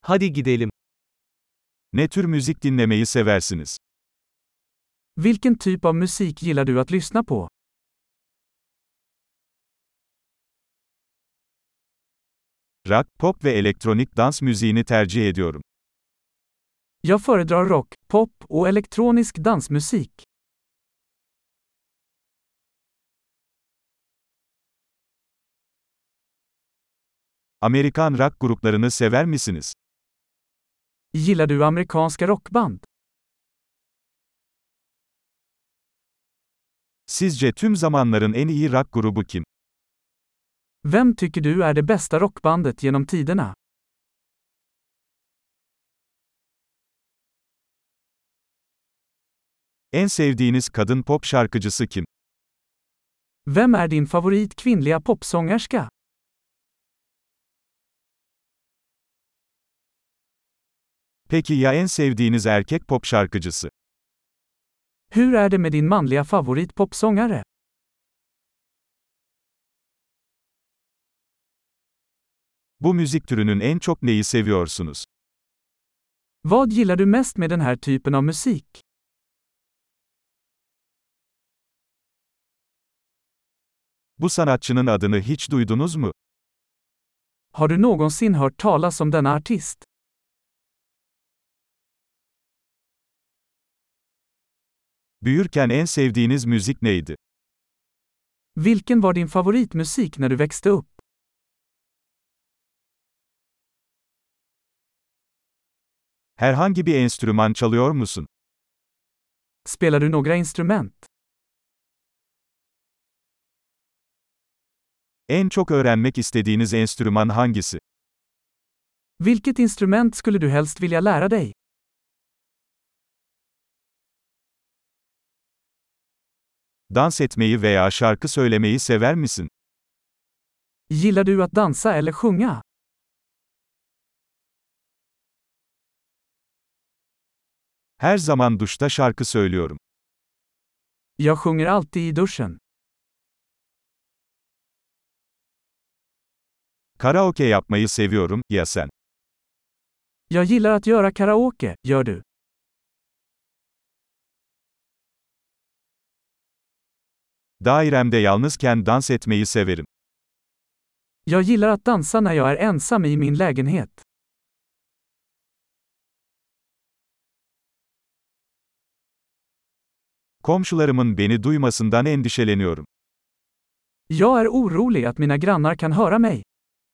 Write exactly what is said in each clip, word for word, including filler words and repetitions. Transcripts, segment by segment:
Hadi gidelim. Ne tür müzik dinlemeyi seversiniz? Vilken typ av musik gillar du att lyssna på? Rock, pop ve elektronik dans müziğini tercih ediyorum. Jag föredrar rock, pop och elektronisk dansmusik. Amerikan rock gruplarını sever misiniz? Gillar du amerikanska rockband? Sizce tüm zamanların en iyi rock grubu kim? Vem tycker du är det bästa rockbandet genom tiderna? En sevdiğiniz kadın pop şarkıcısı kim? Vem är din favorit kvinnliga popsångerska? Peki ya en sevdiğiniz erkek pop şarkıcısı? Hur är det med din manliga favorit popsångare? Bu müzik türünün en çok neyi seviyorsunuz? Vad gillar du mest med den här typen av musik? Bu sanatçının adını hiç duydunuz mu? Har du någonsin hört talas om denna artist? Büyürken en sevdiğiniz müzik neydi? Vilken var din favoritmusik när du växte upp? Herhangi bir enstrüman çalıyor musun? Spelar du några instrument? En çok öğrenmek istediğiniz enstrüman hangisi? Vilket instrument skulle du helst vilja lära dig? Dans etmeyi veya şarkı söylemeyi sever misin? Gillar du att dansa eller sjunga? Her zaman duşta şarkı söylüyorum. Jag sjunger alltid i duschen. Karaoke yapmayı seviyorum, ya sen? Jag gillar att göra karaoke, gör du? Dairemde yalnızken dans etmeyi severim. Jag gillar att dansa när jag är ensam i min lägenhet. Komşularımın beni duymasından endişeleniyorum. Jag är orolig att mina grannar kan höra mig.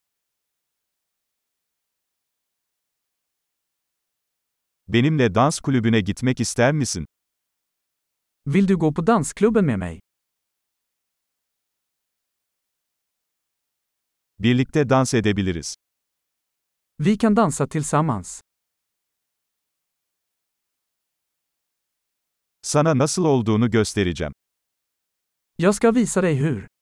Benimle dans kulübüne gitmek ister misin? Vill du gå på dansklubben med mig? Birlikte dans edebiliriz. Vi kan dansa tillsammans. Sana nasıl olduğunu göstereceğim. Jag ska visa dig hur.